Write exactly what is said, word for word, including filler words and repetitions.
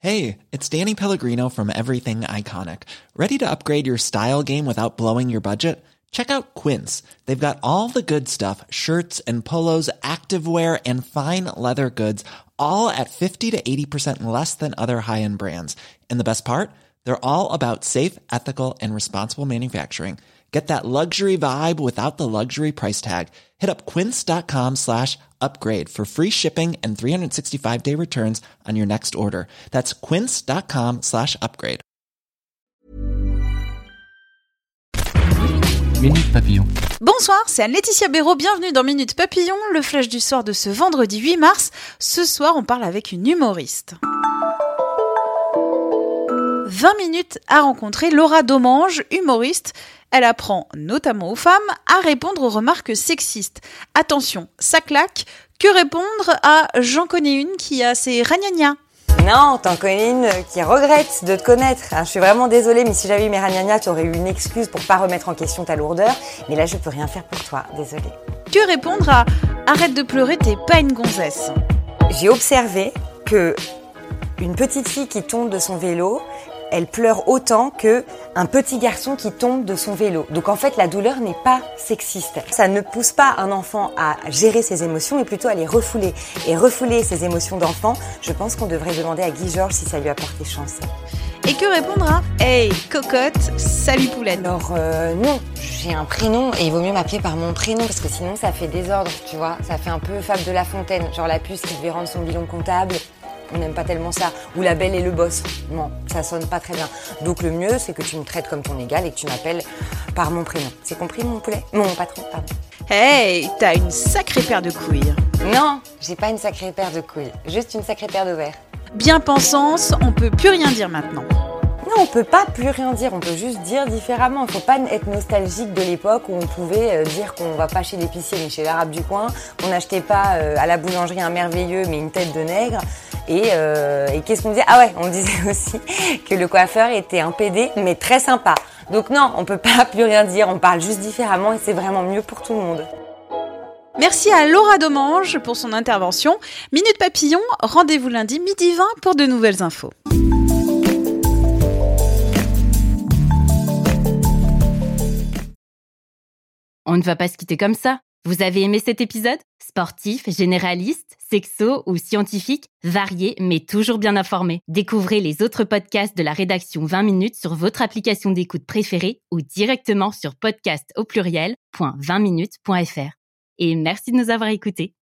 Hey, it's Danny Pellegrino from Everything Iconic. Ready to upgrade your style game without blowing your budget? Check out Quince. They've got all the good stuff, shirts and polos, activewear, and fine leather goods, all at fifty to eighty percent less than other high-end brands. And the best part? They're all about safe, ethical, and responsible manufacturing. Get that luxury vibe without the luxury price tag. Hit up quince.com slash upgrade for free shipping and three sixty-five day returns on your next order. That's quince.com slash upgrade. Minute Papillon. Bonsoir, c'est Anne-Laetitia Béraud, bienvenue dans Minute Papillon, le flash du soir de ce vendredi huit mars. Ce soir, on parle avec une humoriste. vingt minutes à rencontrer Laura Domange, humoriste. Elle apprend notamment aux femmes à répondre aux remarques sexistes. Attention, ça claque. Que répondre à « J'en connais une qui a ses ragnagnas ». Non, t'en connais une qui regrette de te connaître. Je suis vraiment désolée, mais si j'avais eu mes ragnagnas, t'aurais eu une excuse pour pas remettre en question ta lourdeur. Mais là, je peux rien faire pour toi, désolée. Que répondre à « Arrête de pleurer, t'es pas une gonzesse ». J'ai observé que une petite fille qui tombe de son vélo, elle pleure autant qu'un petit garçon qui tombe de son vélo. Donc en fait, la douleur n'est pas sexiste. Ça ne pousse pas un enfant à gérer ses émotions, mais plutôt à les refouler. Et refouler ses émotions d'enfant, je pense qu'on devrait demander à Guy Georges si ça lui a porté chance. Et que répondre à « Hey, cocotte, salut poulette ». Alors euh, non, j'ai un prénom et il vaut mieux m'appeler par mon prénom parce que sinon ça fait désordre, tu vois. Ça fait un peu Fable de La Fontaine, genre la puce qui devait rendre son bilan comptable. On n'aime pas tellement ça. Ou la belle et le boss. Non, ça sonne pas très bien. Donc le mieux, c'est que tu me traites comme ton égal et que tu m'appelles par mon prénom. C'est compris, mon poulet ? Mon patron, pardon. Hey, t'as une sacrée paire de couilles. Non, j'ai pas une sacrée paire de couilles. Juste une sacrée paire d'ovaires. Bien pensance, on peut plus rien dire maintenant. Non, on peut pas plus rien dire, on peut juste dire différemment. Il faut pas être nostalgique de l'époque où on pouvait dire qu'on va pas chez l'épicier mais chez l'arabe du coin, qu'on n'achetait pas à la boulangerie un merveilleux mais une tête de nègre. Et, euh, et qu'est-ce qu'on disait ? Ah ouais, on disait aussi que le coiffeur était un pédé mais très sympa. Donc non, on peut pas plus rien dire, on parle juste différemment et c'est vraiment mieux pour tout le monde. Merci à Laura Domange pour son intervention. Minute Papillon, rendez-vous lundi midi vingt pour de nouvelles infos. On ne va pas se quitter comme ça. Vous avez aimé cet épisode ? Sportif, généraliste, sexo ou scientifique, varié mais toujours bien informé. Découvrez les autres podcasts de la rédaction vingt minutes sur votre application d'écoute préférée ou directement sur podcast au pluriel point vingt minutes point f r. Et merci de nous avoir écoutés.